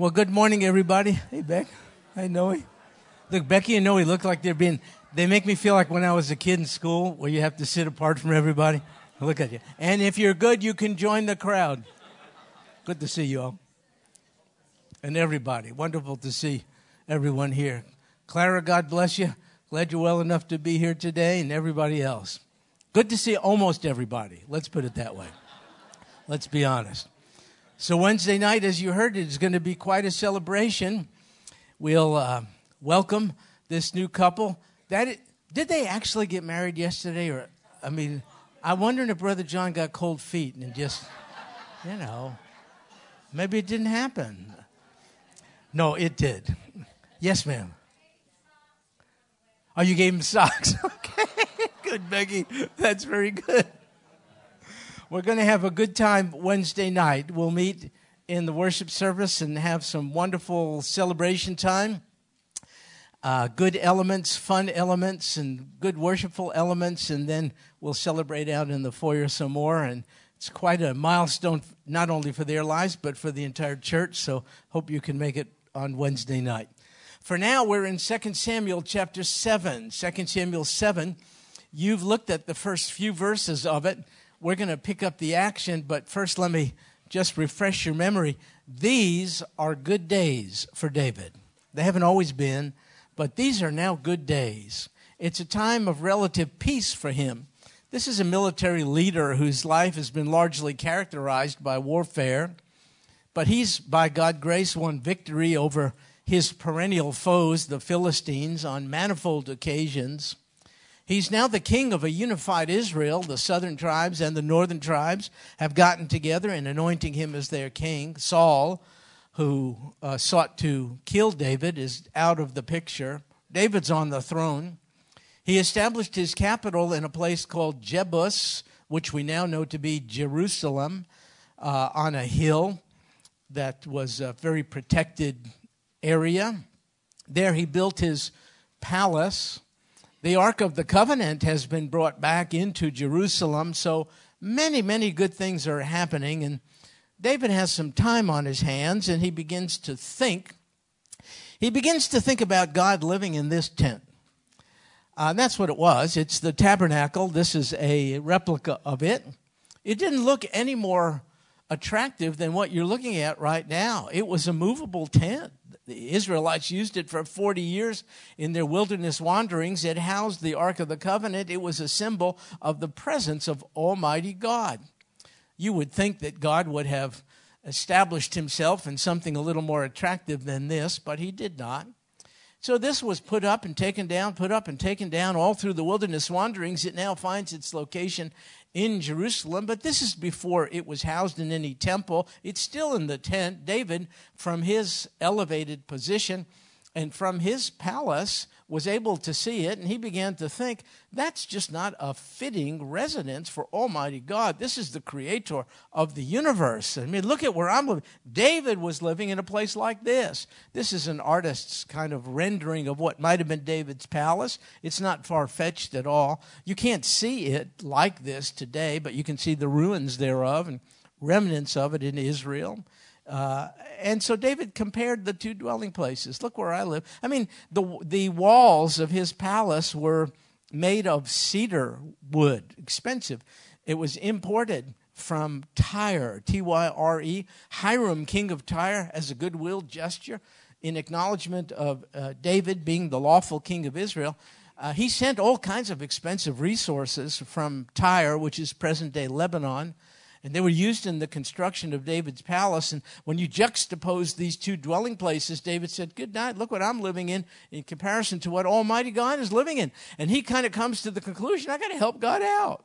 Well, good morning, everybody. Hey, Beck. Hey, Noe. Look, Becky and Noe look like they make me feel like when I was a kid in school where you have to sit apart from everybody. Look at you. And if you're good, you can join the crowd. Good to see you all. And everybody. Wonderful to see everyone here. Clara, God bless you. Glad you're well enough to be here today, and everybody else. Good to see almost everybody. Let's put it that way. Let's be honest. So Wednesday night, as you heard, is going to be quite a celebration. We'll welcome this new couple. Did they actually get married yesterday? I'm wondering if Brother John got cold feet and just, maybe it didn't happen. No, it did. Yes, ma'am. Oh, you gave him socks. Okay, good, Becky. That's very good. We're going to have a good time Wednesday night. We'll meet in the worship service and have some wonderful celebration time. Good elements, fun elements, and good worshipful elements, and then we'll celebrate out in the foyer some more. And it's quite a milestone, not only for their lives, but for the entire church. So hope you can make it on Wednesday night. For now, we're in 2 Samuel chapter 7. 2 Samuel 7, you've looked at the first few verses of it. We're going to pick up the action, but first let me just refresh your memory. These are good days for David. They haven't always been, but these are now good days. It's a time of relative peace for him. This is a military leader whose life has been largely characterized by warfare, but he's, by God's grace, won victory over his perennial foes, the Philistines, on manifold occasions. He's now the king of a unified Israel. The southern tribes and the northern tribes have gotten together in anointing him as their king. Saul, who sought to kill David, is out of the picture. David's on the throne. He established his capital in a place called Jebus, which we now know to be Jerusalem, on a hill that was a very protected area. There he built his palace. The Ark of the Covenant has been brought back into Jerusalem, so many, many good things are happening. And David has some time on his hands, and he begins to think. He begins to think about God living in this tent. That's what it was. It's the tabernacle. This is a replica of it. It didn't look any more attractive than what you're looking at right now. It was a movable tent. The Israelites used it for 40 years in their wilderness wanderings. It housed the Ark of the Covenant. It was a symbol of the presence of Almighty God. You would think that God would have established himself in something a little more attractive than this, but he did not. So this was put up and taken down all through the wilderness wanderings. It now finds its location in Jerusalem, but this is before it was housed in any temple. It's still in the tent. David, from his elevated position and from his palace, was able to see it, and he began to think, that's just not a fitting residence for Almighty God. This is the creator of the universe. I mean, look at where I'm living. David was living in a place like this. This is an artist's kind of rendering of what might have been David's palace. It's not far-fetched at all. You can't see it like this today, but you can see the ruins thereof and remnants of it in Israel. And so David compared the two dwelling places. Look where I live. I mean, the walls of his palace were made of cedar wood, expensive. It was imported from Tyre, Tyre. Hiram, king of Tyre, as a goodwill gesture in acknowledgement of David being the lawful king of Israel. He sent all kinds of expensive resources from Tyre, which is present-day Lebanon, and they were used in the construction of David's palace. And when you juxtapose these two dwelling places, David said, good night, look what I'm living in comparison to what Almighty God is living in. And he kind of comes to the conclusion, I got to help God out.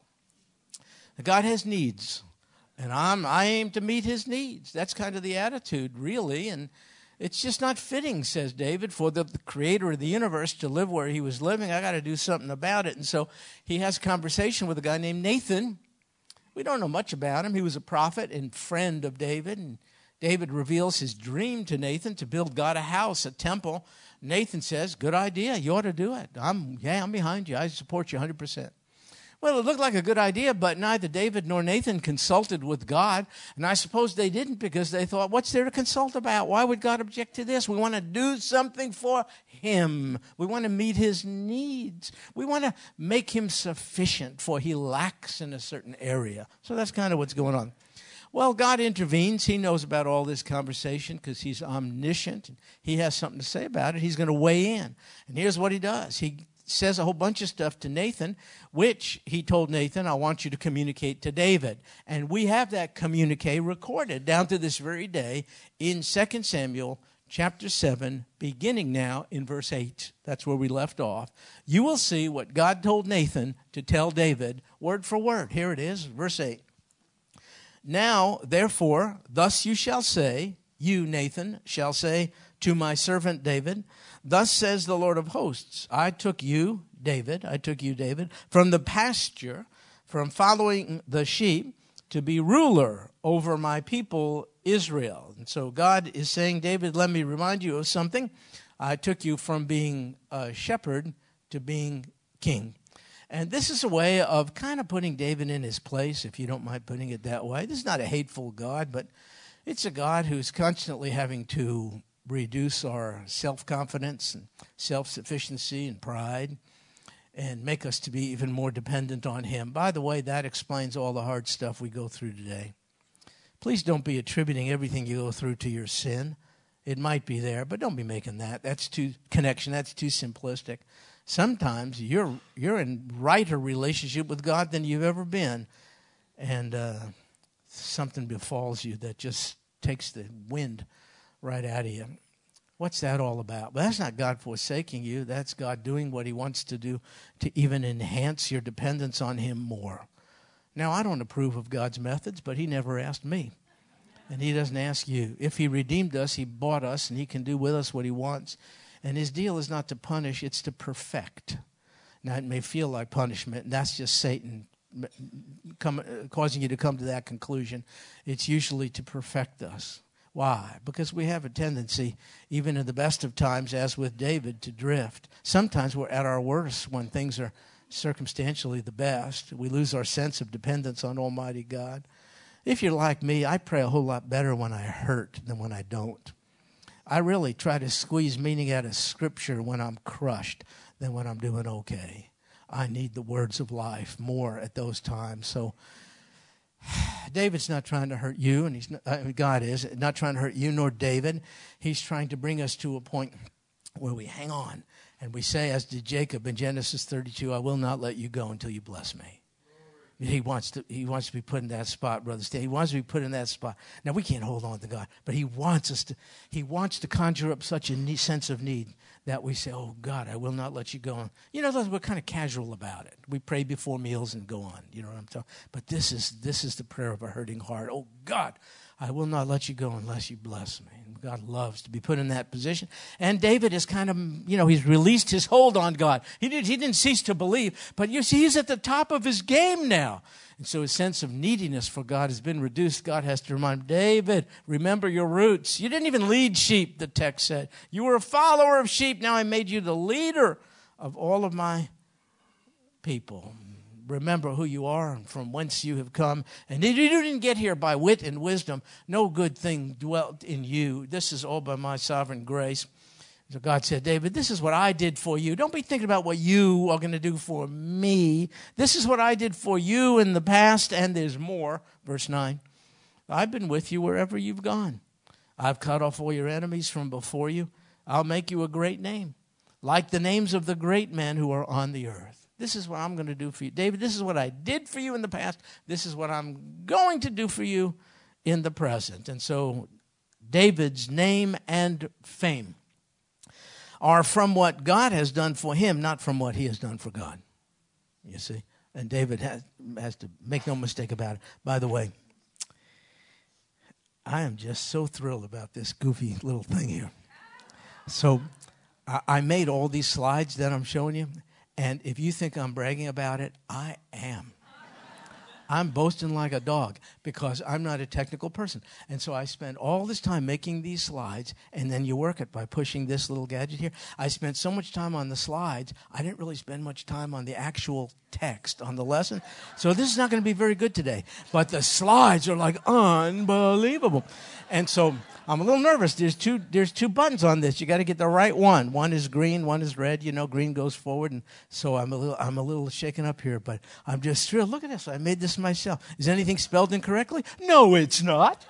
God has needs, and I aim to meet his needs. That's kind of the attitude, really. And it's just not fitting, says David, for the creator of the universe to live where he was living. I got to do something about it. And so he has a conversation with a guy named Nathan. We don't know much about him. He was a prophet and friend of David. And David reveals his dream to Nathan to build God a house, a temple. Nathan says, good idea. You ought to do it. I'm behind you. I support you 100%. Well, it looked like a good idea, but neither David nor Nathan consulted with God. And I suppose they didn't because they thought, what's there to consult about? Why would God object to this? We want to do something for him. We want to meet his needs. We want to make him sufficient, for he lacks in a certain area. So that's kind of what's going on. Well, God intervenes. He knows about all this conversation because he's omniscient. He has something to say about it. He's going to weigh in. And here's what he does. He says a whole bunch of stuff to Nathan, which he told Nathan, I want you to communicate to David. And we have that communique recorded down to this very day in 2 Samuel chapter 7, beginning now in verse 8. That's where we left off. You will see what God told Nathan to tell David, word for word. Here it is, verse 8. Now, therefore, thus you shall say, you, Nathan, shall say to my servant David, thus says the Lord of hosts, I took you, David, from the pasture, from following the sheep, to be ruler over my people Israel. And so God is saying, David, let me remind you of something. I took you from being a shepherd to being king. And this is a way of kind of putting David in his place, if you don't mind putting it that way. This is not a hateful God, but it's a God who's constantly having to reduce our self-confidence and self-sufficiency and pride and make us to be even more dependent on him. By the way, that explains all the hard stuff we go through today. Please don't be attributing everything you go through to your sin. It might be there, but don't be making that. That's too simplistic. Sometimes you're in righter relationship with God than you've ever been, and something befalls you that just takes the wind right out of you. What's that all about? Well, that's not God forsaking you. That's God doing what he wants to do to even enhance your dependence on him more. Now, I don't approve of God's methods, but he never asked me, and he doesn't ask you. If he redeemed us, he bought us, and he can do with us what he wants. And his deal is not to punish, it's to perfect. Now, it may feel like punishment, and that's just Satan causing you to come to that conclusion. It's usually to perfect us. Why? Because we have a tendency, even in the best of times, as with David, to drift. Sometimes we're at our worst when things are circumstantially the best. We lose our sense of dependence on Almighty God. If you're like me, I pray a whole lot better when I hurt than when I don't. I really try to squeeze meaning out of Scripture when I'm crushed than when I'm doing okay. I need the words of life more at those times. So David's not trying to hurt you, and God is not trying to hurt you nor David. He's trying to bring us to a point where we hang on and we say, as did Jacob in Genesis 32, I will not let you go until you bless me. He wants to be put in that spot, Brother Stan. He wants to be put in that spot. Now, we can't hold on to God, but he wants to conjure up such a sense of need that we say, oh, God, I will not let you go. You know, we're kind of casual about it. We pray before meals and go on. You know what I'm talking about? But this is the prayer of a hurting heart. Oh, God, I will not let you go unless you bless me. And God loves to be put in that position. And David is kind of, he's released his hold on God. He didn't cease to believe, but you see, he's at the top of his game now. And so his sense of neediness for God has been reduced. God has to remind him, David, remember your roots. You didn't even lead sheep, the text said. You were a follower of sheep. Now I made you the leader of all of my people. Remember who you are and from whence you have come. And you didn't get here by wit and wisdom. No good thing dwelt in you. This is all by my sovereign grace. So God said, David, this is what I did for you. Don't be thinking about what you are going to do for me. This is what I did for you in the past, and there's more. Verse 9, I've been with you wherever you've gone. I've cut off all your enemies from before you. I'll make you a great name, like the names of the great men who are on the earth. This is what I'm going to do for you. David, this is what I did for you in the past. This is what I'm going to do for you in the present. And so David's name and fame are from what God has done for him, not from what he has done for God. You see? And David has to make no mistake about it. By the way, I am just so thrilled about this goofy little thing here. So I made all these slides that I'm showing you, and if you think I'm bragging about it, I am. I'm boasting like a dog because I'm not a technical person. And so I spent all this time making these slides, and then you work it by pushing this little gadget here. I spent so much time on the slides, I didn't really spend much time on the actual text on the lesson. So this is not going to be very good today. But the slides are like unbelievable. And so I'm a little nervous. There's two buttons on this. You got to get the right one. One is green, one is red. You know, green goes forward, and so I'm a little shaken up here. But I'm just thrilled. Look at this. I made this myself. Is anything spelled incorrectly? No, it's not.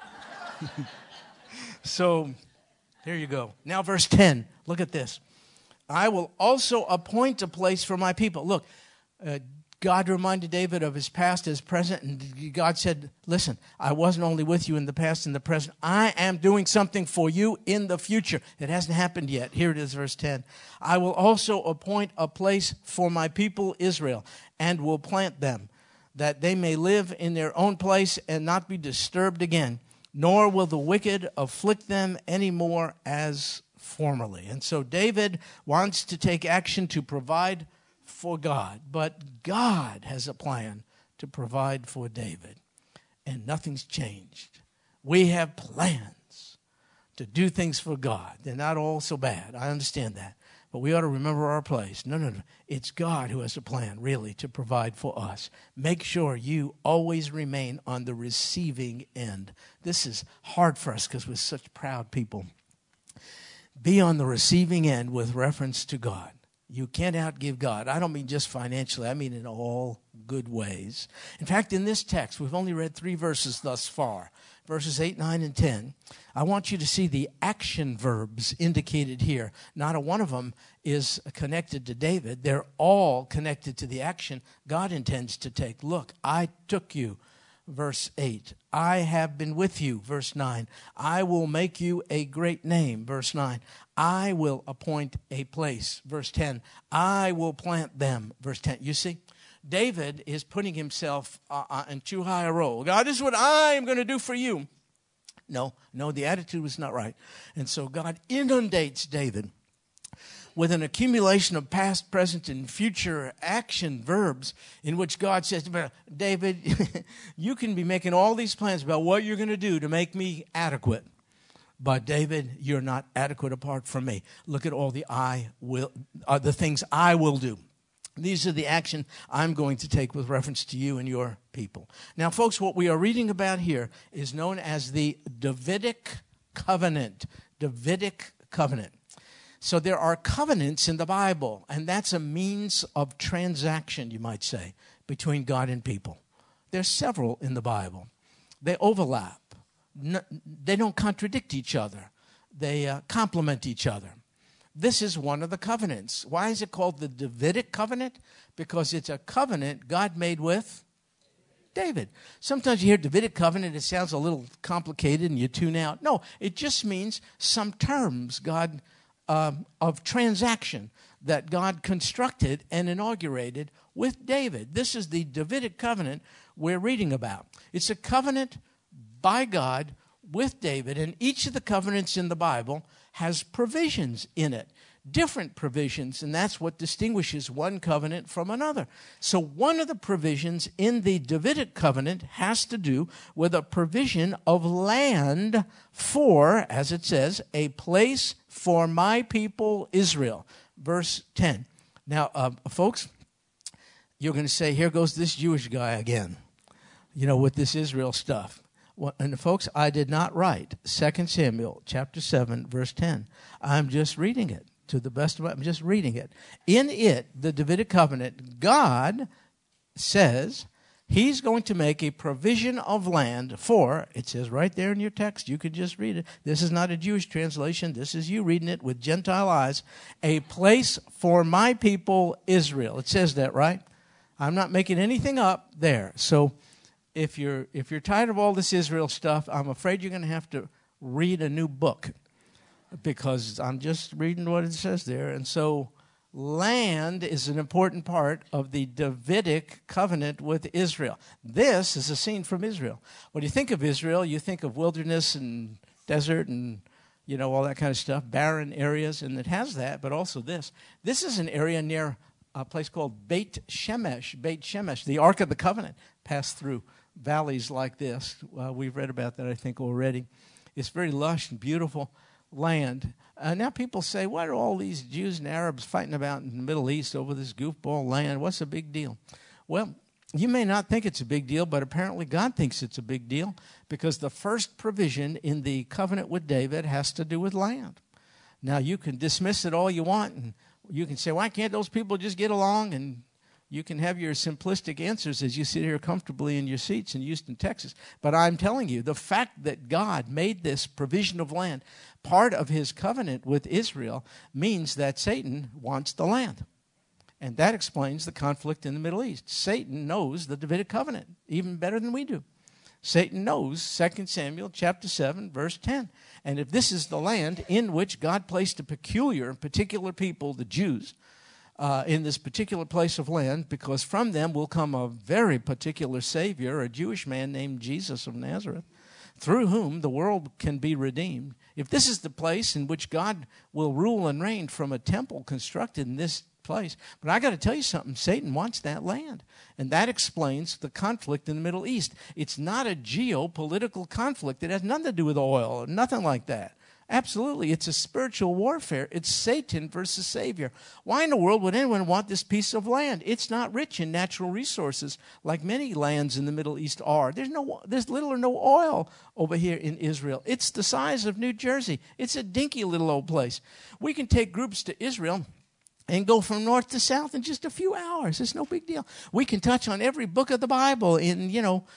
So there you go. Now verse 10. Look at this. I will also appoint a place for my people. Look, God reminded David of his past, his present, and God said, listen, I wasn't only with you in the past and the present. I am doing something for you in the future. It hasn't happened yet. Here it is, verse 10. I will also appoint a place for my people Israel and will plant them, that they may live in their own place and not be disturbed again, nor will the wicked afflict them any more as formerly. And so David wants to take action to provide for God, but God has a plan to provide for David, and nothing's changed. We have plans to do things for God. They're not all so bad. I understand that, but we ought to remember our place. No. It's God who has a plan, really, to provide for us. Make sure you always remain on the receiving end. This is hard for us because we're such proud people. Be on the receiving end with reference to God. You can't outgive God. I don't mean just financially. I mean in all good ways. In fact, in this text, we've only read 3 verses thus far, verses 8, 9, and 10. I want you to see the action verbs indicated here. Not a one of them is connected to David. They're all connected to the action God intends to take. Look, I took you. Verse 8, I have been with you. Verse 9, I will make you a great name. Verse 9, I will appoint a place. Verse 10, I will plant them. Verse 10, you see, David is putting himself in too high a role. God, this is what I am going to do for you. No, the attitude was not right. And so God inundates David with an accumulation of past, present, and future action verbs in which God says, David, you can be making all these plans about what you're going to do to make me adequate. But David, you're not adequate apart from me. Look at all the things I will do. These are the action I'm going to take with reference to you and your people. Now, folks, what we are reading about here is known as the Davidic covenant. Davidic covenant. So there are covenants in the Bible, and that's a means of transaction, you might say, between God and people. There's several in the Bible. They overlap. They don't contradict each other. They complement each other. This is one of the covenants. Why is it called the Davidic covenant? Because it's a covenant God made with David. Sometimes you hear Davidic covenant, it sounds a little complicated and you tune out. No, it just means some terms God of transaction that God constructed and inaugurated with David. This is the Davidic covenant we're reading about. It's a covenant by God with David, and each of the covenants in the Bible has provisions in it, different provisions, and that's what distinguishes one covenant from another. So one of the provisions in the Davidic covenant has to do with a provision of land for, as it says, a place for my people Israel. Verse 10. Now, folks, you're going to say, here goes this Jewish guy again, with this Israel stuff. Well, and folks, I did not write 2 Samuel chapter 7, verse 10. I'm just reading it to the best of I'm just reading it. In it, the Davidic covenant, God says he's going to make a provision of land for, it says right there in your text, you could just read it. This is not a Jewish translation. This is you reading it with Gentile eyes. A place for my people Israel. It says that, right? I'm not making anything up there. So if you're tired of all this Israel stuff, I'm afraid you're going to have to read a new book because I'm just reading what it says there. And so land is an important part of the Davidic covenant with Israel. This is a scene from Israel. When you think of Israel, you think of wilderness and desert and, all that kind of stuff, barren areas, and it has that, but also this. This is an area near a place called Beit Shemesh. Beit Shemesh, the Ark of the Covenant, passed through valleys like this. We've read about that, I think, already. It's very lush and beautiful land. Now people say, what are all these Jews and Arabs fighting about in the Middle East over this goofball land? What's the big deal? Well, you may not think it's a big deal, but apparently God thinks it's a big deal, because the first provision in the covenant with David has to do with land. Now, you can dismiss it all you want, and you can say, why can't those people just get along? And you can have your simplistic answers as you sit here comfortably in your seats in Houston, Texas. But I'm telling you, the fact that God made this provision of land part of his covenant with Israel means that Satan wants the land. And that explains the conflict in the Middle East. Satan knows the Davidic covenant even better than we do. Satan knows 2 Samuel chapter 7, verse 10. And if this is the land in which God placed a peculiar and particular people, the Jews, in this particular place of land, because from them will come a very particular Savior, a Jewish man named Jesus of Nazareth, through whom the world can be redeemed. If this is the place in which God will rule and reign from a temple constructed in this place. But I got to tell you something, Satan wants that land. And that explains the conflict in the Middle East. It's not a geopolitical conflict. It has nothing to do with oil or nothing like that. Absolutely, it's a spiritual warfare. It's Satan versus Savior. Why in the world would anyone want this piece of land? It's not rich in natural resources like many lands in the Middle East are. There's little or no oil over here in Israel. It's the size of New Jersey. It's a dinky little old place. We can take groups to Israel and go from north to south in just a few hours. It's no big deal. We can touch on every book of the Bible in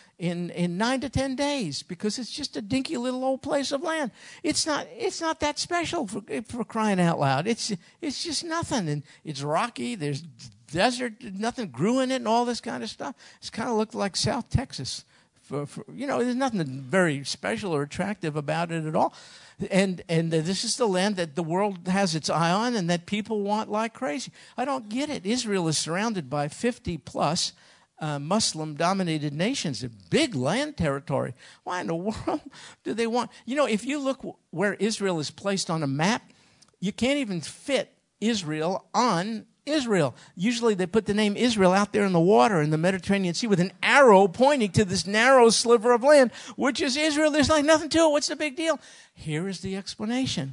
9 to 10 days, because it's just a dinky little old place of land. It's not that special for crying out loud. It's just nothing, and it's rocky. There's desert, nothing grew in it, and all this kind of stuff. It's kind of looked like South Texas. There's nothing very special or attractive about it at all. And this is the land that the world has its eye on and that people want like crazy. I don't get it. Israel is surrounded by 50-plus Muslim-dominated nations, a big land territory. Why in the world do they want? If you look where Israel is placed on a map, you can't even fit Israel on Israel. Usually they put the name Israel out there in the water in the Mediterranean Sea with an arrow pointing to this narrow sliver of land, which is Israel. There's like nothing to it. What's the big deal? Here is the explanation.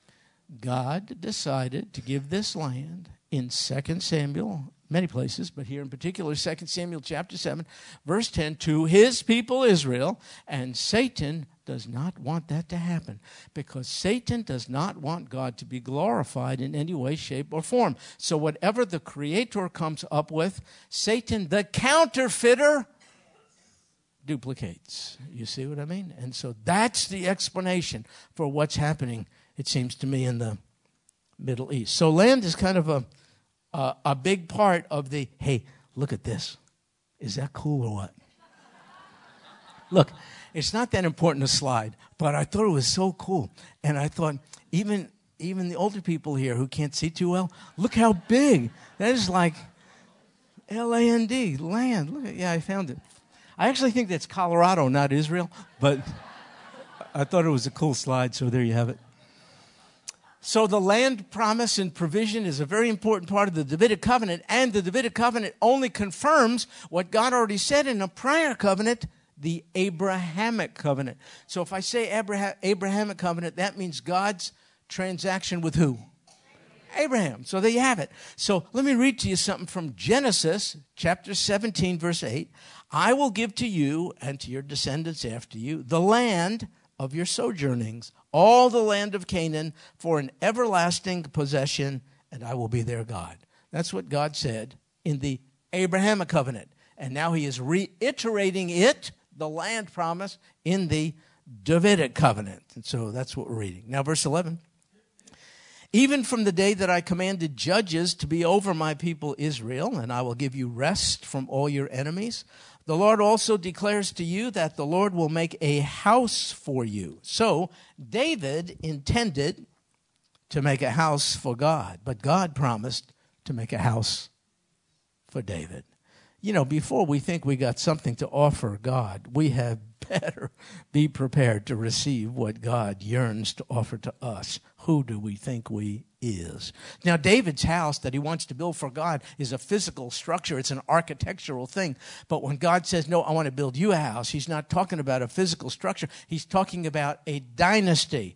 God decided to give this land in 2 Samuel, many places, but here in particular, 2 Samuel chapter 7, verse 10, to his people Israel, and Satan does not want that to happen, because Satan does not want God to be glorified in any way, shape, or form. So whatever the Creator comes up with, Satan, the counterfeiter, duplicates. You see what I mean? And so that's the explanation for what's happening, it seems to me, in the Middle East. So land is kind of a big part of the, hey, look at this. Is that cool or what? Look, it's not that important to slide, but I thought it was so cool. And I thought, even the older people here who can't see too well, look how big. That is like L-A-N-D, land. Look, I found it. I actually think that's Colorado, not Israel, but I thought it was a cool slide, so there you have it. So the land promise and provision is a very important part of the Davidic covenant, and the Davidic covenant only confirms what God already said in a prior covenant, the Abrahamic covenant. So if I say Abrahamic covenant, that means God's transaction with who? Abraham. So there you have it. So let me read to you something from Genesis chapter 17, verse 8. I will give to you and to your descendants after you the land of your sojournings, all the land of Canaan, for an everlasting possession, and I will be their God. That's what God said in the Abrahamic covenant. And now he is reiterating it, the land promise, in the Davidic covenant. And so that's what we're reading. Now, verse 11. Even from the day that I commanded judges to be over my people Israel, and I will give you rest from all your enemies, the Lord also declares to you that the Lord will make a house for you. So David intended to make a house for God, but God promised to make a house for David. Before we think we got something to offer God, we have better be prepared to receive what God yearns to offer to us. Who do we think we is? Now, David's house that he wants to build for God is a physical structure. It's an architectural thing. But when God says, no, I want to build you a house, he's not talking about a physical structure. He's talking about a dynasty.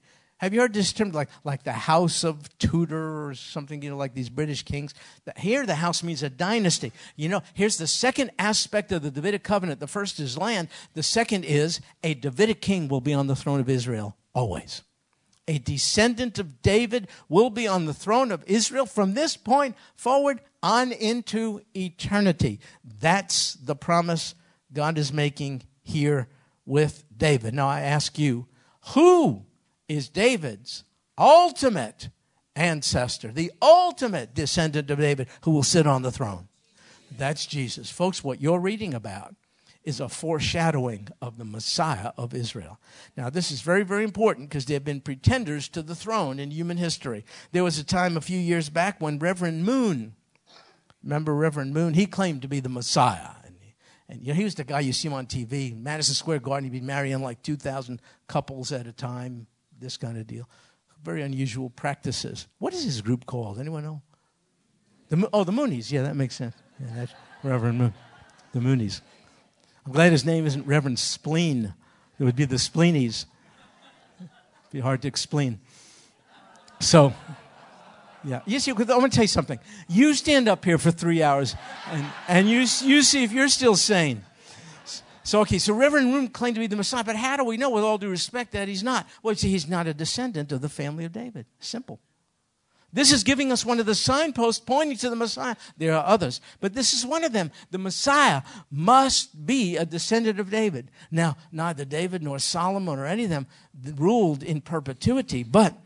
Have you heard this term, like the House of Tudor or something, like these British kings? Here, the house means a dynasty. Here's the second aspect of the Davidic covenant. The first is land. The second is a Davidic king will be on the throne of Israel always. A descendant of David will be on the throne of Israel from this point forward on into eternity. That's the promise God is making here with David. Now I ask you, who is David's ultimate ancestor, the ultimate descendant of David who will sit on the throne? That's Jesus. Folks, what you're reading about is a foreshadowing of the Messiah of Israel. Now, this is very, very important because there have been pretenders to the throne in human history. There was a time a few years back when Reverend Moon, remember Reverend Moon? He claimed to be the Messiah. And he was the guy you see him on TV, Madison Square Garden. He'd be marrying like 2,000 couples at a time, this kind of deal. Very unusual practices. What is his group called? Anyone know? The Moonies. Yeah, that makes sense. Yeah, that's Reverend Moon. The Moonies. I'm glad his name isn't Reverend Spleen. It would be the Spleenies. It'd be hard to explain. So, yeah. You see, I'm going to tell you something. You stand up here for 3 hours, and you see if you're still sane. So Reverend Moon claimed to be the Messiah, but how do we know, with all due respect, that he's not? Well, see, he's not a descendant of the family of David. Simple. This is giving us one of the signposts pointing to the Messiah. There are others, but this is one of them. The Messiah must be a descendant of David. Now, neither David nor Solomon or any of them ruled in perpetuity, but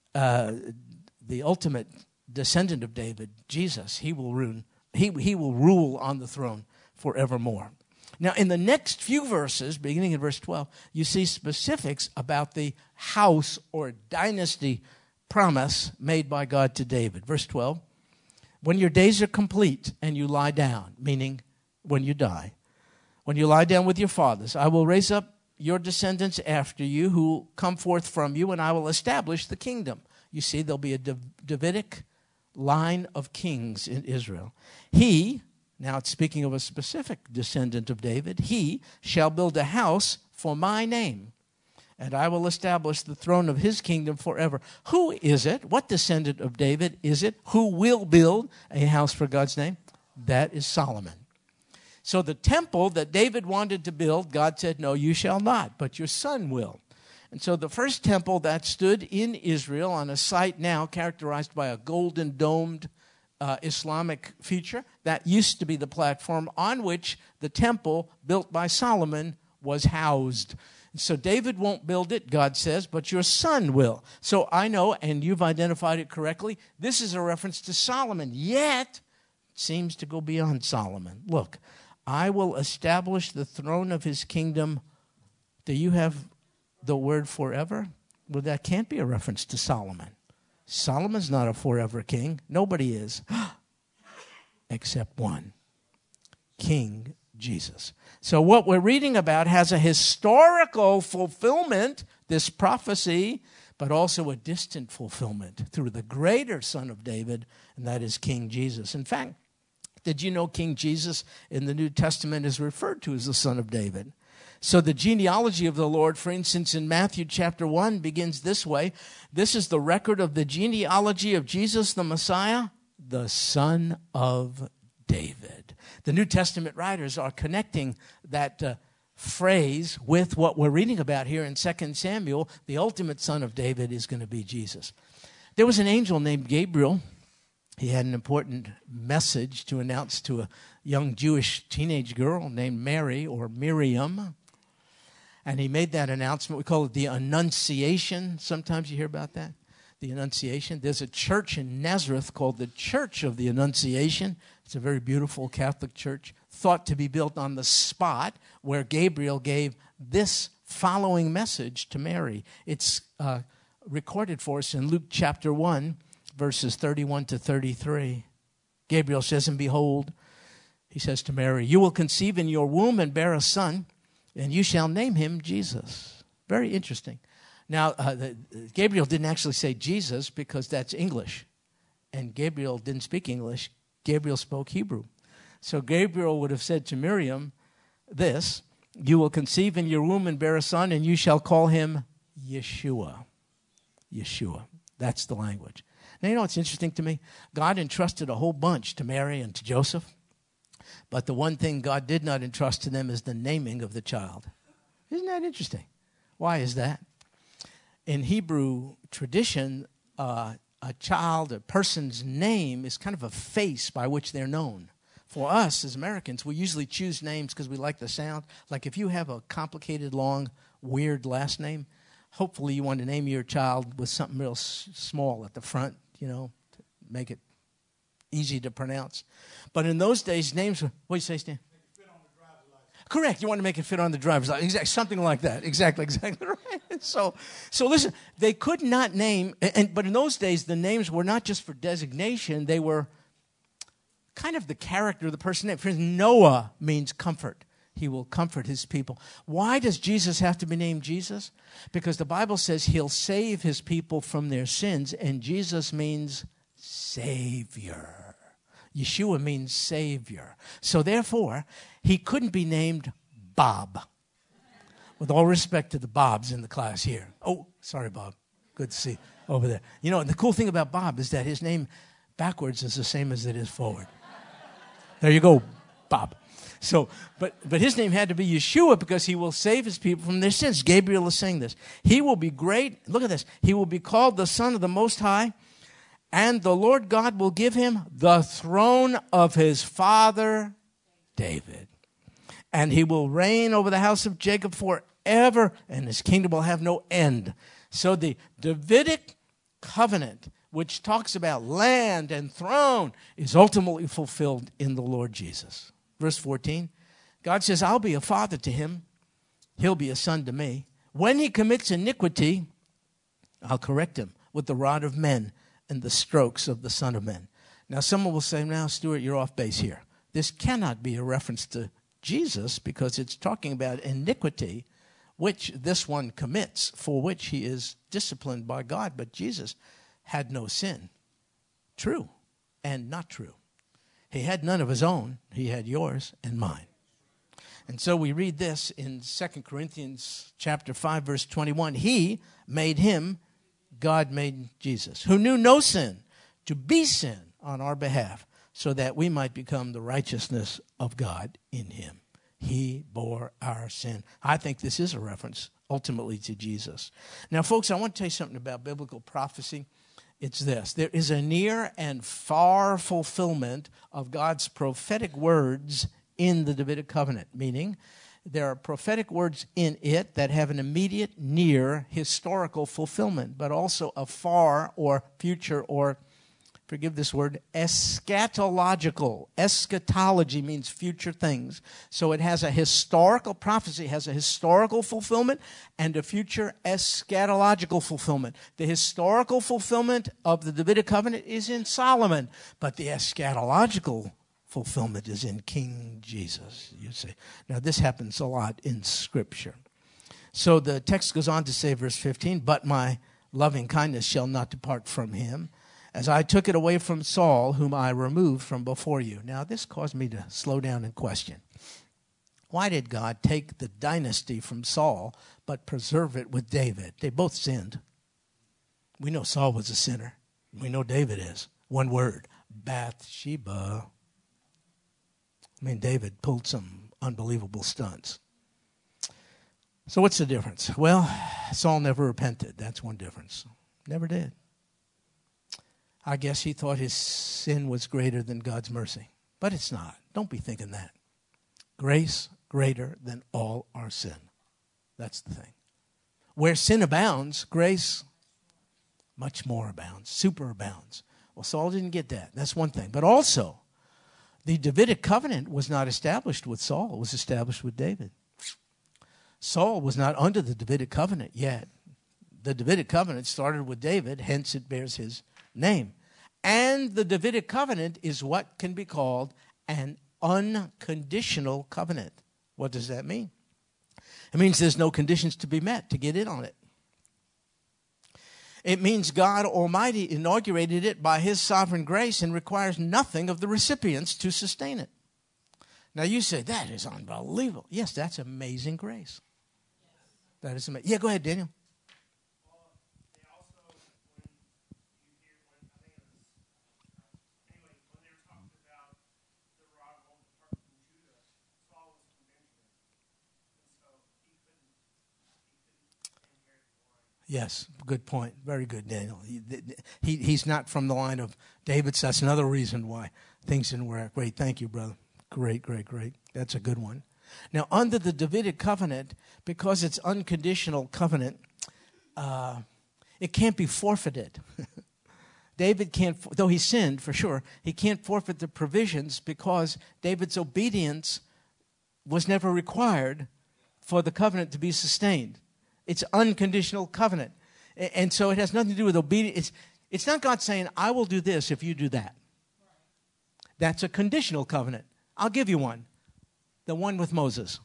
the ultimate descendant of David, Jesus, he will rule on the throne forevermore. Now, in the next few verses, beginning in verse 12, you see specifics about the house or dynasty promise made by God to David. Verse 12, when your days are complete and you lie down, meaning when you die, when you lie down with your fathers, I will raise up your descendants after you who will come forth from you, and I will establish the kingdom. You see, there'll be a Davidic line of kings in Israel. He, now it's speaking of a specific descendant of David, he shall build a house for my name, and I will establish the throne of his kingdom forever. Who is it? What descendant of David is it who will build a house for God's name? That is Solomon. So the temple that David wanted to build, God said, no, you shall not, but your son will. And so the first temple that stood in Israel on a site now characterized by a golden domed Islamic feature, that used to be the platform on which the temple built by Solomon was housed. So David won't build it, God says, but your son will. So I know, and you've identified it correctly, this is a reference to Solomon, yet it seems to go beyond Solomon. Look, I will establish the throne of his kingdom. Do you have the word forever? Well, that can't be a reference to Solomon. Solomon's not a forever king. Nobody is, except one, King Jesus. So what we're reading about has a historical fulfillment, this prophecy, but also a distant fulfillment through the greater Son of David, and that is King Jesus. In fact, did you know King Jesus in the New Testament is referred to as the Son of David? So the genealogy of the Lord, for instance, in Matthew chapter 1 begins this way. This is the record of the genealogy of Jesus the Messiah, the Son of David. The New Testament writers are connecting that phrase with what we're reading about here in 2 Samuel. The ultimate son of David is going to be Jesus. There was an angel named Gabriel. He had an important message to announce to a young Jewish teenage girl named Mary or Miriam. And he made that announcement. We call it the Annunciation. Sometimes you hear about that. The Annunciation. There's a church in Nazareth called the Church of the Annunciation. It's a very beautiful Catholic church, thought to be built on the spot where Gabriel gave this following message to Mary. It's recorded for us in Luke chapter 1, verses 31 to 33. Gabriel says, and behold, he says to Mary, you will conceive in your womb and bear a son, and you shall name him Jesus. Very interesting. Now, Gabriel didn't actually say Jesus because that's English. And Gabriel didn't speak English. Gabriel spoke Hebrew. So Gabriel would have said to Miriam this, you will conceive in your womb and bear a son, and you shall call him Yeshua. Yeshua. That's the language. Now, you know what's interesting to me? God entrusted a whole bunch to Mary and to Joseph, but the one thing God did not entrust to them is the naming of the child. Isn't that interesting? Why is that? In Hebrew tradition, a person's name is kind of a face by which they're known. For us as Americans, we usually choose names because we like the sound. Like if you have a complicated, long, weird last name, hopefully you want to name your child with something real small at the front, to make it easy to pronounce. But in those days, names were, what do you say, Stan? Make it fit on the driver's license. Correct. You want to make it fit on the driver's license. Exactly, something like that. Exactly right. So listen, they could not name, but in those days, the names were not just for designation. They were kind of the character of the person's name. For instance, Noah means comfort. He will comfort his people. Why does Jesus have to be named Jesus? Because the Bible says he'll save his people from their sins, and Jesus means Savior. Yeshua means Savior. So therefore, he couldn't be named Bob. With all respect to the Bobs in the class here. Oh, sorry, Bob. Good to see you over there. And the cool thing about Bob is that his name backwards is the same as it is forward. There you go, Bob. So, but his name had to be Yeshua because he will save his people from their sins. Gabriel is saying this. He will be great. Look at this. He will be called the Son of the Most High, and the Lord God will give him the throne of his father David. And he will reign over the house of Jacob forever, and his kingdom will have no end. So the Davidic covenant, which talks about land and throne, is ultimately fulfilled in the Lord Jesus. Verse 14, God says, I'll be a father to him. He'll be a son to me. When he commits iniquity, I'll correct him with the rod of men and the strokes of the Son of Men. Now, someone will say, now, Stuart, you're off base here. This cannot be a reference to Jesus because it's talking about iniquity, which this one commits, for which he is disciplined by God. But Jesus had no sin. True and not true. He had none of his own. He had yours and mine. And so we read this in 2 Corinthians chapter 5, verse 21. He made him, God made Jesus, who knew no sin, to be sin on our behalf, so that we might become the righteousness of God in him. He bore our sin. I think this is a reference ultimately to Jesus. Now, folks, I want to tell you something about biblical prophecy. It's this. There is a near and far fulfillment of God's prophetic words in the Davidic covenant, meaning there are prophetic words in it that have an immediate, near, historical fulfillment, but also a far or future or, forgive this word, eschatological. Eschatology means future things. So it has a historical prophecy, has a historical fulfillment and a future eschatological fulfillment. The historical fulfillment of the Davidic covenant is in Solomon, but the eschatological fulfillment is in King Jesus, you see. Now, this happens a lot in Scripture. So the text goes on to say, verse 15, but my loving kindness shall not depart from him, as I took it away from Saul, whom I removed from before you. Now, this caused me to slow down and question. Why did God take the dynasty from Saul, but preserve it with David? They both sinned. We know Saul was a sinner. We know David is. One word, Bathsheba. I mean, David pulled some unbelievable stunts. So what's the difference? Well, Saul never repented. That's one difference. Never did. I guess he thought his sin was greater than God's mercy. But it's not. Don't be thinking that. Grace greater than all our sin. That's the thing. Where sin abounds, grace much more abounds, superabounds. Well, Saul didn't get that. That's one thing. But also, the Davidic covenant was not established with Saul. It was established with David. Saul was not under the Davidic covenant yet. The Davidic covenant started with David, hence it bears his name. And the Davidic covenant is what can be called an unconditional covenant. What does that mean? It means there's no conditions to be met to get in on it. It means God Almighty inaugurated it by his sovereign grace and requires nothing of the recipients to sustain it. Now you say, that is unbelievable. Yes, that's amazing grace. That is amazing. Yeah, go ahead, Daniel. Yes, good point. Very good, Daniel. He's not from the line of David, so that's another reason why things didn't work. Great, thank you, brother. Great. That's a good one. Now, under the Davidic covenant, because it's unconditional covenant, it can't be forfeited. David can't, though he sinned for sure, he can't forfeit the provisions because David's obedience was never required for the covenant to be sustained. It's unconditional covenant. And so it has nothing to do with obedience. It's not God saying, I will do this if you do that. That's a conditional covenant. I'll give you one. The one with Moses.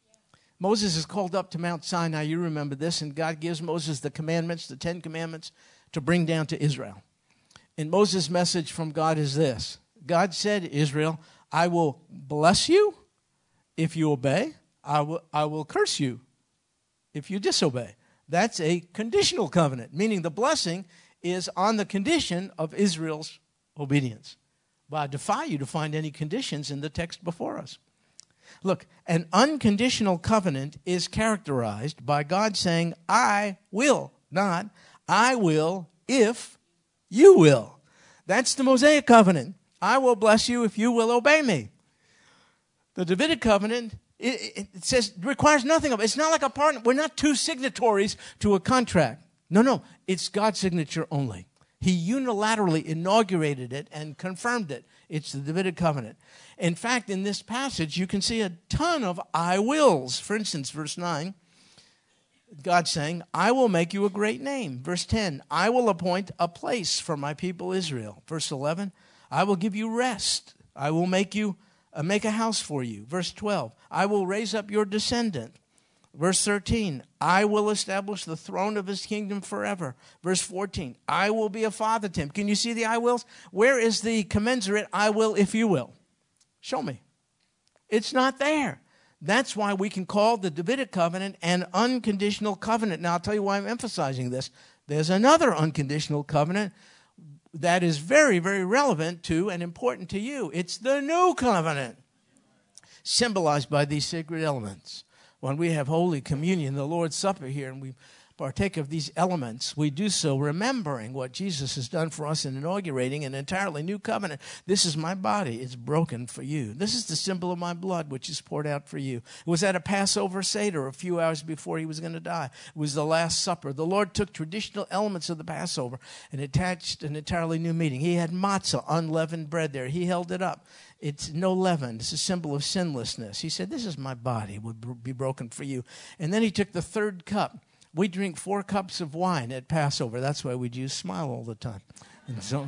Moses is called up to Mount Sinai. You remember this. And God gives Moses the commandments, the 10 commandments, to bring down to Israel. And Moses' message from God is this. God said, Israel, I will bless you if you obey. I will curse you if you disobey. That's a conditional covenant, meaning the blessing is on the condition of Israel's obedience. But I defy you to find any conditions in the text before us. Look, an unconditional covenant is characterized by God saying, I will, not I will if you will. That's the Mosaic covenant. I will bless you if you will obey me. The Davidic covenant, it says, requires nothing of it. It's not like a partner. We're not two signatories to a contract. No, it's God's signature only. He unilaterally inaugurated it and confirmed it. It's the Davidic covenant. In fact, in this passage, you can see a ton of I wills. For instance, verse 9, God saying, I will make you a great name. Verse 10, I will appoint a place for my people Israel. Verse 11, I will give you rest. I will make a house for you. Verse 12, I will raise up your descendant. Verse 13, I will establish the throne of his kingdom forever. Verse 14, I will be a father to him. Can you see the I wills? Where is the commensurate I will if you will? Show me. It's not there. That's why we can call the Davidic covenant an unconditional covenant. Now, I'll tell you why I'm emphasizing this. There's another unconditional covenant that is very, very relevant to and important to you. It's the new covenant, symbolized by these sacred elements. When we have Holy Communion, the Lord's Supper here, and we partake of these elements, we do so remembering what Jesus has done for us in inaugurating an entirely new covenant. This is my body. It's broken for you. This is the symbol of my blood, which is poured out for you. It was at a Passover Seder a few hours before he was going to die. It was the Last Supper. The Lord took traditional elements of the Passover and attached an entirely new meaning. He had matzah, unleavened bread there. He held it up. It's no leaven. It's a symbol of sinlessness. He said, this is my body. It would be broken for you. And then he took the third cup. We drink 4 cups of wine at Passover. That's why we Jews smile all the time. And so,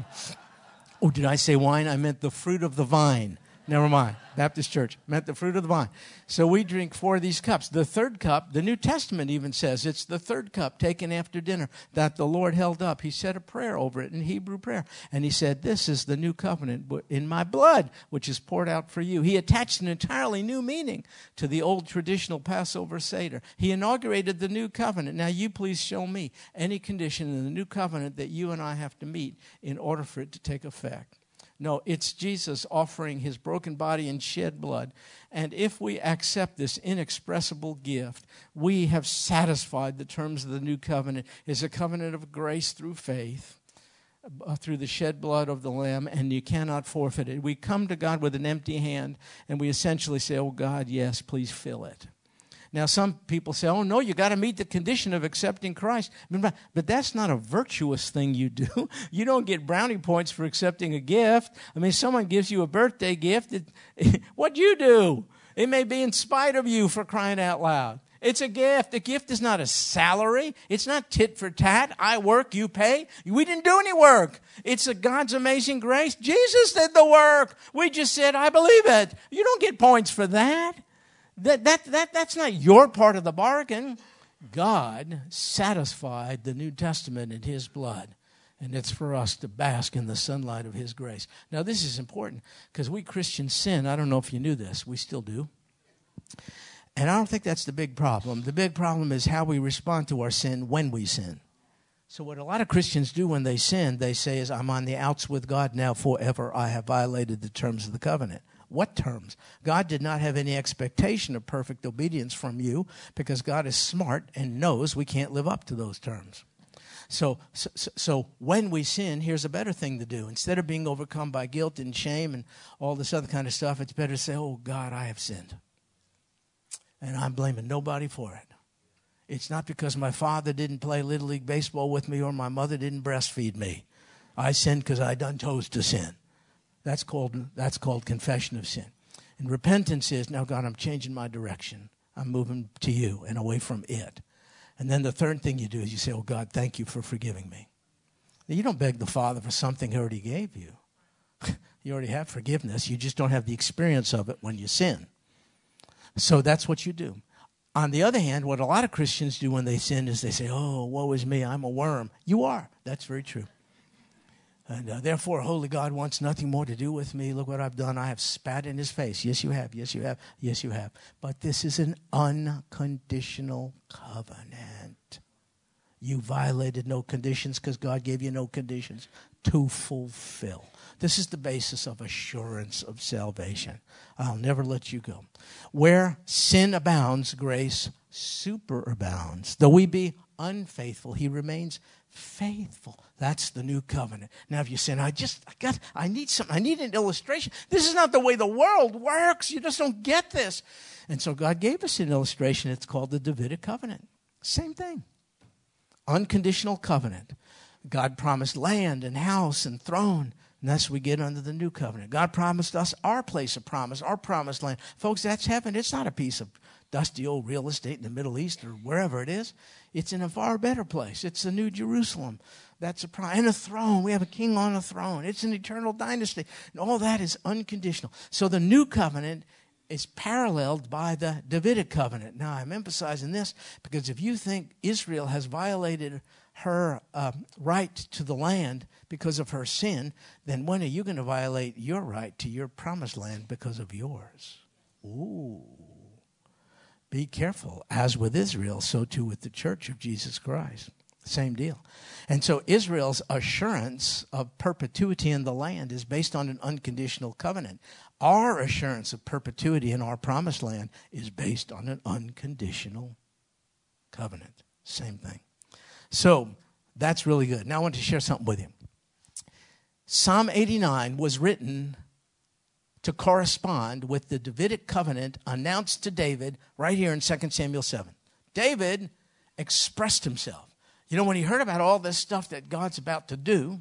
did I say wine? I meant the fruit of the vine. Never mind. Baptist Church meant the fruit of the vine. So we drink 4 of these cups. The third cup, the New Testament even says it's the third cup taken after dinner that the Lord held up. He said a prayer over it in Hebrew prayer. And he said, this is the new covenant in my blood, which is poured out for you. He attached an entirely new meaning to the old traditional Passover Seder. He inaugurated the new covenant. Now you please show me any condition in the new covenant that you and I have to meet in order for it to take effect. No, it's Jesus offering his broken body and shed blood. And if we accept this inexpressible gift, we have satisfied the terms of the new covenant. It's a covenant of grace through faith, through the shed blood of the Lamb, and you cannot forfeit it. We come to God with an empty hand, and we essentially say, oh, God, yes, please fill it. Now, some people say, oh, no, you got to meet the condition of accepting Christ. But that's not a virtuous thing you do. You don't get brownie points for accepting a gift. I mean, someone gives you a birthday gift. What you do? It may be in spite of you, for crying out loud. It's a gift. A gift is not a salary. It's not tit for tat. I work, you pay. We didn't do any work. It's God's amazing grace. Jesus did the work. We just said, I believe it. You don't get points for that. That's not your part of the bargain. God satisfied the New Testament in his blood, and it's for us to bask in the sunlight of his grace. Now, this is important because we Christians sin. I don't know if you knew this. We still do. And I don't think that's the big problem. The big problem is how we respond to our sin when we sin. So what a lot of Christians do when they sin, they say is, I'm on the outs with God now forever. I have violated the terms of the covenant. What terms? God did not have any expectation of perfect obedience from you because God is smart and knows we can't live up to those terms. So when we sin, here's a better thing to do. Instead of being overcome by guilt and shame and all this other kind of stuff, it's better to say, oh, God, I have sinned. And I'm blaming nobody for it. It's not because my father didn't play Little League Baseball with me or my mother didn't breastfeed me. I sinned because I done chose to sin. That's called confession of sin. And repentance is, now, God, I'm changing my direction. I'm moving to you and away from it. And then the third thing you do is you say, oh, God, thank you for forgiving me. Now, you don't beg the Father for something he already gave you. You already have forgiveness. You just don't have the experience of it when you sin. So that's what you do. On the other hand, what a lot of Christians do when they sin is they say, oh, woe is me, I'm a worm. You are. That's very true. And therefore, holy God wants nothing more to do with me. Look what I've done. I have spat in his face. Yes, you have. Yes, you have. Yes, you have. But this is an unconditional covenant. You violated no conditions because God gave you no conditions to fulfill. This is the basis of assurance of salvation. I'll never let you go. Where sin abounds, grace superabounds. Though we be unfaithful, he remains faithful. That's the new covenant. Now, if you say, I need something. I need an illustration. This is not the way the world works. You just don't get this. And so God gave us an illustration. It's called the Davidic covenant. Same thing. Unconditional covenant. God promised land and house and throne. And that's what we get under the new covenant. God promised us our place of promise, our promised land. Folks, that's heaven. It's not a piece of dusty old real estate in the Middle East or wherever it is. It's in a far better place. It's the New Jerusalem. That's a promise. And a throne. We have a king on a throne. It's an eternal dynasty. And all that is unconditional. So the new covenant is paralleled by the Davidic covenant. Now, I'm emphasizing this because if you think Israel has violated her right to the land because of her sin, then when are you going to violate your right to your promised land because of yours? Ooh. Be careful. As with Israel, so too with the church of Jesus Christ. Same deal. And so Israel's assurance of perpetuity in the land is based on an unconditional covenant. Our assurance of perpetuity in our promised land is based on an unconditional covenant. Same thing. So that's really good. Now I want to share something with you. Psalm 89 was written to correspond with the Davidic covenant announced to David right here in 2 Samuel 7. David expressed himself. You know, when he heard about all this stuff that God's about to do,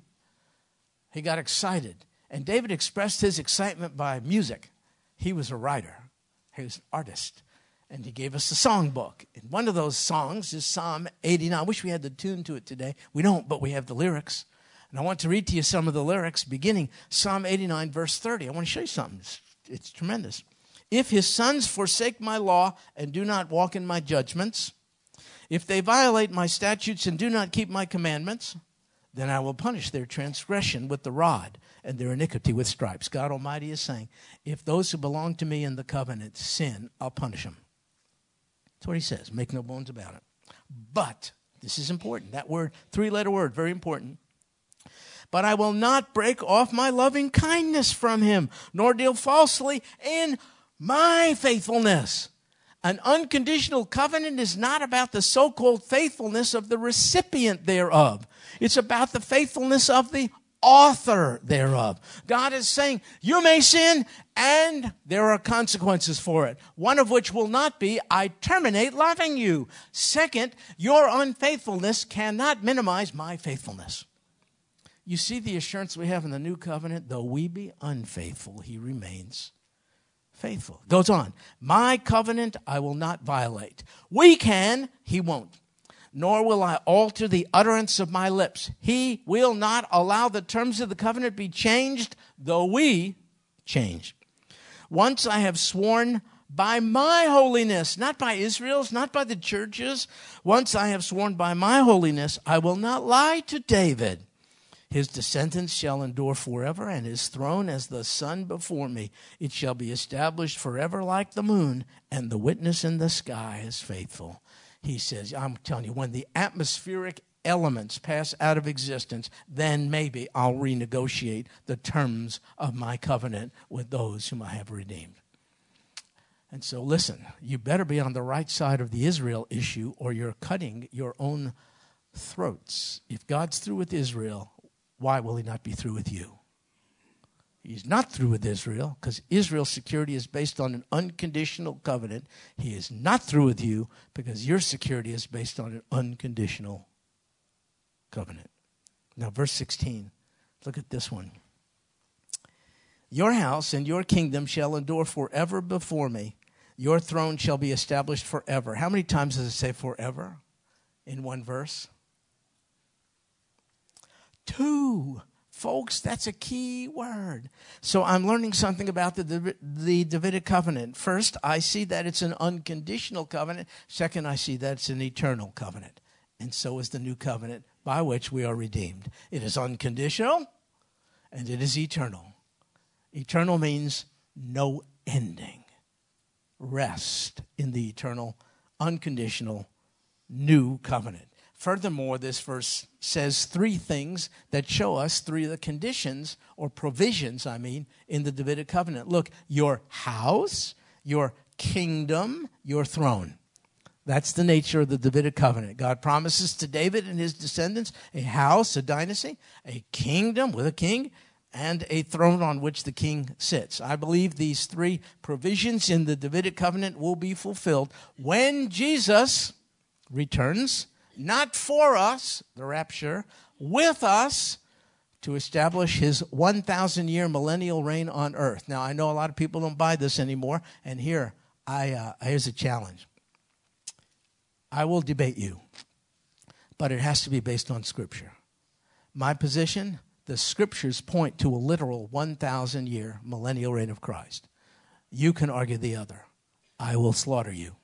he got excited. And David expressed his excitement by music. He was a writer. He was an artist. And he gave us a songbook. And one of those songs is Psalm 89. I wish we had the tune to it today. We don't, but we have the lyrics. And I want to read to you some of the lyrics, beginning Psalm 89, verse 30. I want to show you something. It's tremendous. If his sons forsake my law and do not walk in my judgments, if they violate my statutes and do not keep my commandments, then I will punish their transgression with the rod and their iniquity with stripes. God Almighty is saying, if those who belong to me in the covenant sin, I'll punish them. That's what he says. Make no bones about it. But, this is important. That word, three-letter word, very important. But I will not break off my loving kindness from him, nor deal falsely in my faithfulness. An unconditional covenant is not about the so-called faithfulness of the recipient thereof. It's about the faithfulness of the author thereof. God is saying, you may sin, and there are consequences for it. One of which will not be, I terminate loving you. Second, your unfaithfulness cannot minimize my faithfulness. You see the assurance we have in the new covenant? Though we be unfaithful, he remains faithful. Goes on. My covenant I will not violate. We can, he won't. Nor will I alter the utterance of my lips. He will not allow the terms of the covenant be changed, though we change. Once I have sworn by my holiness, not by Israel's, not by the churches. Once I have sworn by my holiness, I will not lie to David. His descendants shall endure forever, and his throne as the sun before me. It shall be established forever like the moon, and the witness in the sky is faithful. He says, I'm telling you, when the atmospheric elements pass out of existence, then maybe I'll renegotiate the terms of my covenant with those whom I have redeemed. And so listen, you better be on the right side of the Israel issue or you're cutting your own throats. If God's through with Israel, why will he not be through with you? He's not through with Israel because Israel's security is based on an unconditional covenant. He is not through with you because your security is based on an unconditional covenant. Now, verse 16, look at this one. Your house and your kingdom shall endure forever before me. Your throne shall be established forever. How many times does it say forever in one verse? 2. Folks, that's a key word. So I'm learning something about the Davidic covenant. First, I see that it's an unconditional covenant. Second, I see that it's an eternal covenant. And so is the new covenant by which we are redeemed. It is unconditional and it is eternal. Eternal means no ending. Rest in the eternal, unconditional, new covenant. Furthermore, this verse says 3 things that show us 3 of the conditions or provisions, in the Davidic covenant. Look, your house, your kingdom, your throne. That's the nature of the Davidic covenant. God promises to David and his descendants a house, a dynasty, a kingdom with a king, and a throne on which the king sits. I believe these 3 provisions in the Davidic covenant will be fulfilled when Jesus returns, not for us, the rapture, with us to establish his 1,000-year millennial reign on earth. Now, I know a lot of people don't buy this anymore, and here's a challenge. I will debate you, but it has to be based on Scripture. My position, the Scriptures point to a literal 1,000-year millennial reign of Christ. You can argue the other. I will slaughter you.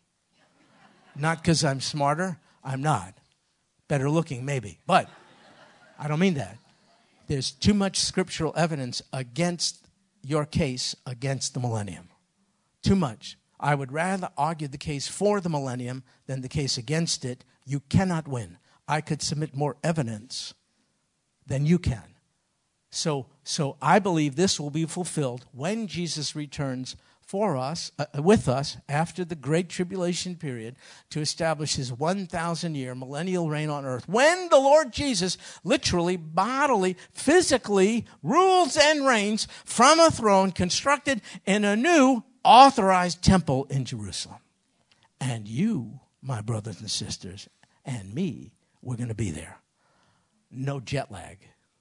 Not because I'm smarter. I'm not. Better looking, maybe. But I don't mean that. There's too much scriptural evidence against your case against the millennium. Too much. I would rather argue the case for the millennium than the case against it. You cannot win. I could submit more evidence than you can. So I believe this will be fulfilled when Jesus returns for us, with us, after the Great Tribulation period, to establish his 1,000-year millennial reign on earth. When the Lord Jesus literally, bodily, physically rules and reigns from a throne constructed in a new authorized temple in Jerusalem. And you, my brothers and sisters, and me, we're going to be there. No jet lag.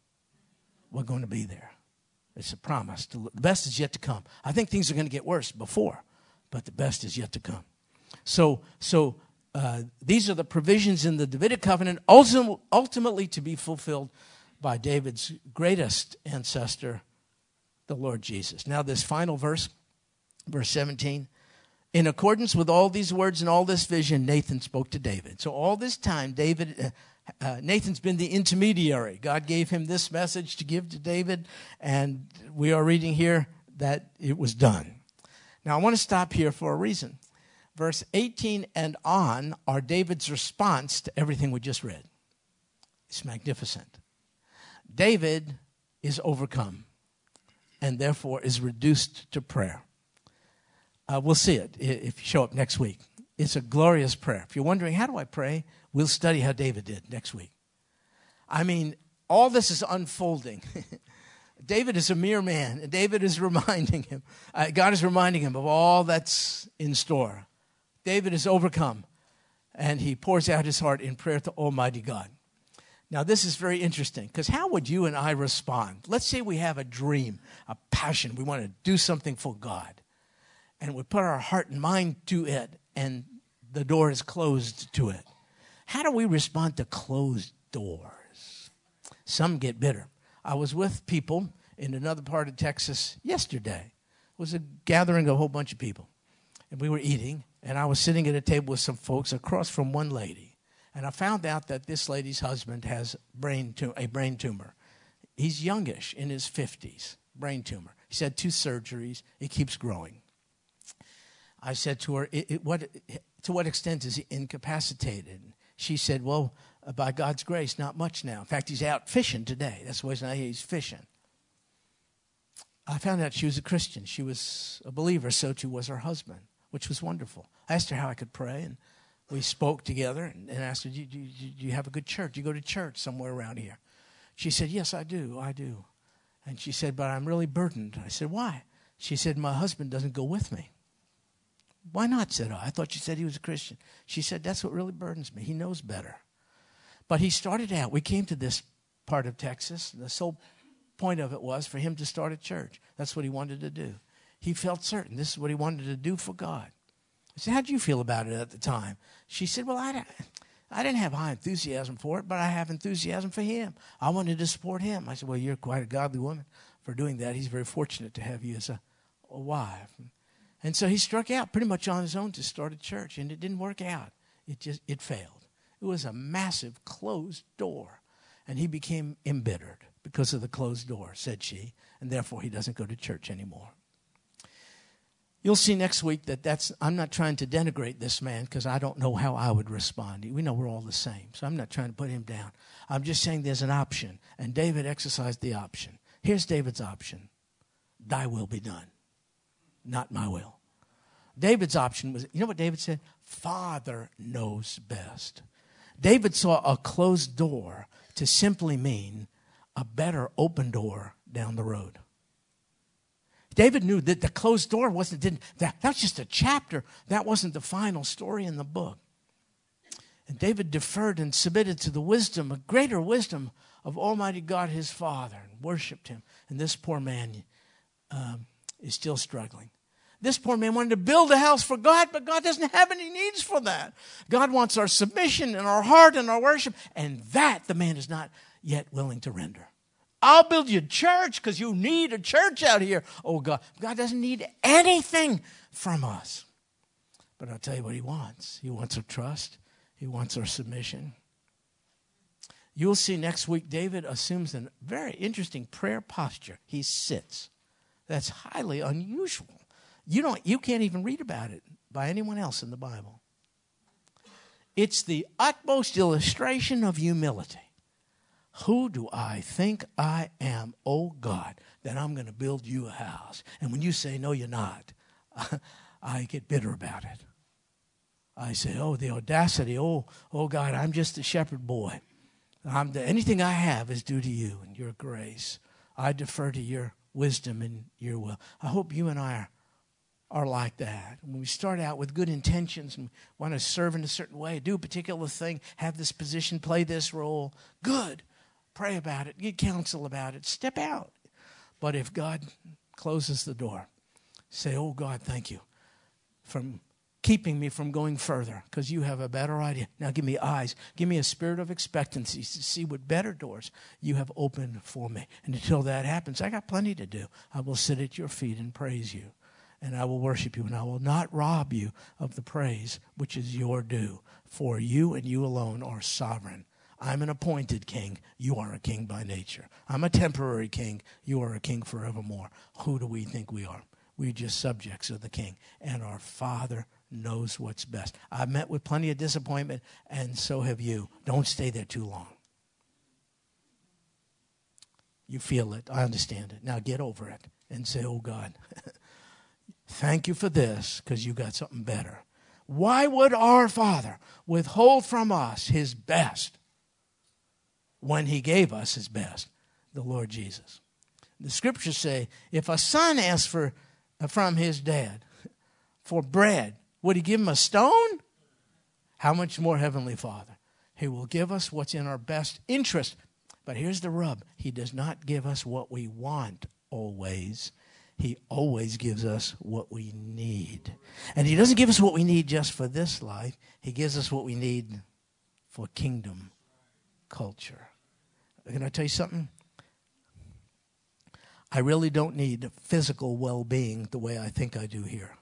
We're going to be there. It's a promise. The best is yet to come. I think things are going to get worse before, but the best is yet to come. So these are the provisions in the Davidic covenant, ultimately to be fulfilled by David's greatest ancestor, the Lord Jesus. Now this final verse, verse 17, in accordance with all these words and all this vision, Nathan spoke to David. So all this time, Nathan's been the intermediary. God gave him this message to give to David, and we are reading here that it was done. Now, I want to stop here for a reason. Verse 18 and on are David's response to everything we just read. It's magnificent. David is overcome and therefore is reduced to prayer. We'll see it if you show up next week. It's a glorious prayer. If you're wondering, how do I pray? We'll study how David did next week. All this is unfolding. David is a mere man, and David is reminding him, God is reminding him of all that's in store. David is overcome, and he pours out his heart in prayer to Almighty God. Now, this is very interesting, because how would you and I respond? Let's say we have a dream, a passion. We want to do something for God, and we put our heart and mind to it, and the door is closed to it. How do we respond to closed doors? Some get bitter. I was with people in another part of Texas yesterday. It was a gathering of a whole bunch of people. And we were eating, and I was sitting at a table with some folks across from one lady. And I found out that this lady's husband has a brain tumor. He's youngish, in his 50s, brain tumor. He's had 2 surgeries. It keeps growing. I said to her, to what extent is he incapacitated? She said, well, by God's grace, not much now. In fact, he's out fishing today. That's why he's fishing. I found out she was a Christian. She was a believer, so too was her husband, which was wonderful. I asked her how I could pray, and we spoke together and asked her, do you have a good church? Do you go to church somewhere around here? She said, yes, I do. And she said, but I'm really burdened. I said, why? She said, my husband doesn't go with me. Why not, said I. I thought you said he was a Christian. She said, that's what really burdens me. He knows better. But he started out, we came to this part of Texas, the sole point of it was for him to start a church. That's what he wanted to do. He felt certain this is what he wanted to do for God. I said, how did you feel about it at the time? She said, well, I didn't have high enthusiasm for it, but I have enthusiasm for him. I wanted to support him. I said, well, you're quite a godly woman for doing that. He's very fortunate to have you as a wife. And so he struck out pretty much on his own to start a church, and it didn't work out. It failed. It was a massive closed door, and he became embittered because of the closed door, said she, and therefore he doesn't go to church anymore. You'll see next week I'm not trying to denigrate this man because I don't know how I would respond. We know we're all the same, so I'm not trying to put him down. I'm just saying there's an option, and David exercised the option. Here's David's option. Thy will be done, not my will. David's option was, you know what David said? Father knows best. David saw a closed door to simply mean a better open door down the road. David knew that the closed door that was just a chapter. That wasn't the final story in the book. And David deferred and submitted to the wisdom, a greater wisdom of Almighty God his Father, and worshiped him. And this poor man is still struggling. This poor man wanted to build a house for God, but God doesn't have any needs for that. God wants our submission and our heart and our worship, and that the man is not yet willing to render. I'll build you a church because you need a church out here. Oh, God doesn't need anything from us. But I'll tell you what he wants. He wants our trust. He wants our submission. You'll see next week David assumes a very interesting prayer posture. He sits. That's highly unusual. You can't even read about it by anyone else in the Bible. It's the utmost illustration of humility. Who do I think I am, oh God, that I'm going to build you a house? And when you say, no, you're not, I get bitter about it. I say, oh, the audacity, oh God, I'm just a shepherd boy. Anything I have is due to you and your grace. I defer to your wisdom and your will. I hope you and I are like that. When we start out with good intentions and want to serve in a certain way, do a particular thing, have this position, play this role, good. Pray about it, get counsel about it, step out. But if God closes the door, say, oh God, thank you from keeping me from going further because you have a better idea. Now give me eyes, give me a spirit of expectancy to see what better doors you have opened for me. And until that happens, I got plenty to do. I will sit at your feet and praise you. And I will worship you, and I will not rob you of the praise which is your due. For you and you alone are sovereign. I'm an appointed king. You are a king by nature. I'm a temporary king. You are a king forevermore. Who do we think we are? We're just subjects of the king. And our Father knows what's best. I've met with plenty of disappointment, and so have you. Don't stay there too long. You feel it. I understand it. Now get over it and say, oh God, thank you for this because you got something better. Why would our Father withhold from us his best when he gave us his best, the Lord Jesus? The scriptures say, if a son asks from his dad for bread, would he give him a stone? How much more Heavenly Father? He will give us what's in our best interest. But here's the rub. He does not give us what we want always. He always gives us what we need. And he doesn't give us what we need just for this life. He gives us what we need for kingdom culture. Can I tell you something? I really don't need physical well-being the way I think I do here.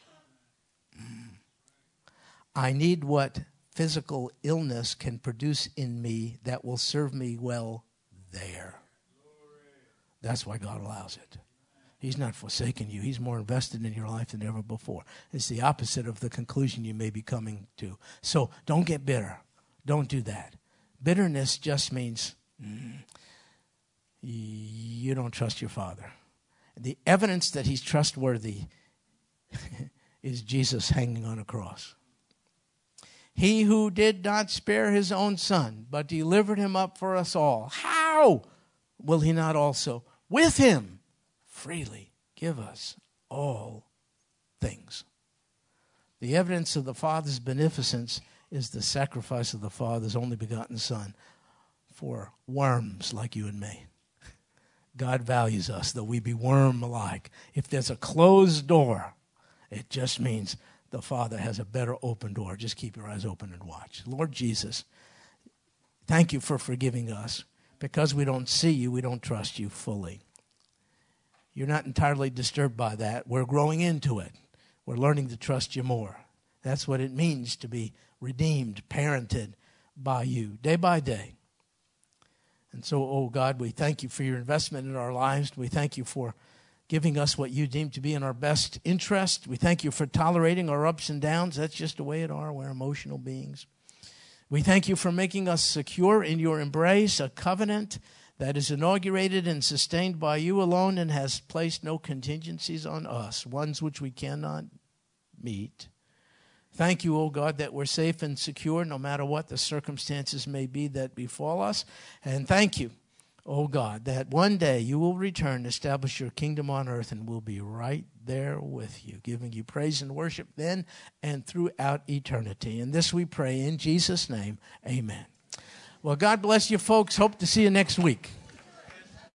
I need what physical illness can produce in me that will serve me well there. That's why God allows it. He's not forsaken you. He's more invested in your life than ever before. It's the opposite of the conclusion you may be coming to. So don't get bitter. Don't do that. Bitterness just means you don't trust your Father. The evidence that he's trustworthy is Jesus hanging on a cross. He who did not spare his own son, but delivered him up for us all, how will he not also with him freely give us all things? The evidence of the Father's beneficence is the sacrifice of the Father's only begotten Son for worms like you and me. God values us, though we be worm-like. If there's a closed door, it just means the Father has a better open door. Just keep your eyes open and watch. Lord Jesus, thank you for forgiving us. Because we don't see you, we don't trust you fully. You're not entirely disturbed by that. We're growing into it. We're learning to trust you more. That's what it means to be redeemed, parented by you, day by day. And so, oh God, we thank you for your investment in our lives. We thank you for giving us what you deem to be in our best interest. We thank you for tolerating our ups and downs. That's just the way it are. We're emotional beings. We thank you for making us secure in your embrace, a covenant that is inaugurated and sustained by you alone and has placed no contingencies on us, ones which we cannot meet. Thank you, O God, that we're safe and secure no matter what the circumstances may be that befall us. And thank you, O God, that one day you will return, establish your kingdom on earth, and we'll be right there with you, giving you praise and worship then and throughout eternity. And this we pray in Jesus' name, amen. Well, God bless you, folks. Hope to see you next week.